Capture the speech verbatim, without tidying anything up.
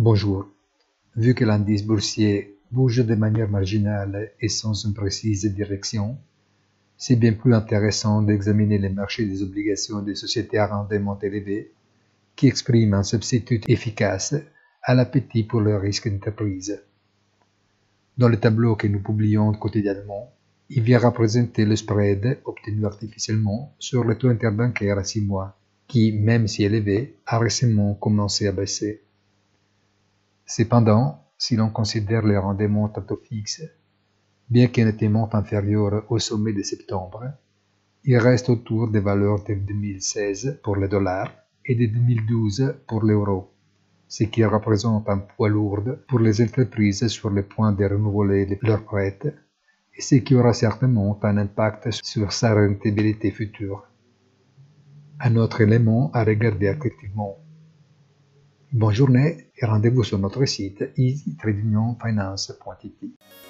Bonjour. Vu que l'indice boursier bouge de manière marginale et sans une précise direction, c'est bien plus intéressant d'examiner les marchés des obligations des sociétés à rendement élevé qui expriment un substitut efficace à l'appétit pour le risque d'entreprise. Dans le tableau que nous publions quotidiennement, il vient représenter le spread obtenu artificiellement sur le taux interbancaire à six mois, qui, même si élevé, a récemment commencé à baisser. Cependant, si l'on considère les rendements à taux fixe, bien qu'ils nettement inférieurs au sommet de septembre, ils restent autour des valeurs de deux mille seize pour le dollar et de deux mille douze pour l'euro, ce qui représente un poids lourd pour les entreprises sur le point de renouveler leurs prêts et ce qui aura certainement un impact sur sa rentabilité future. Un autre élément à regarder activement. Bonne journée et rendez-vous sur notre site easy trading finance point it.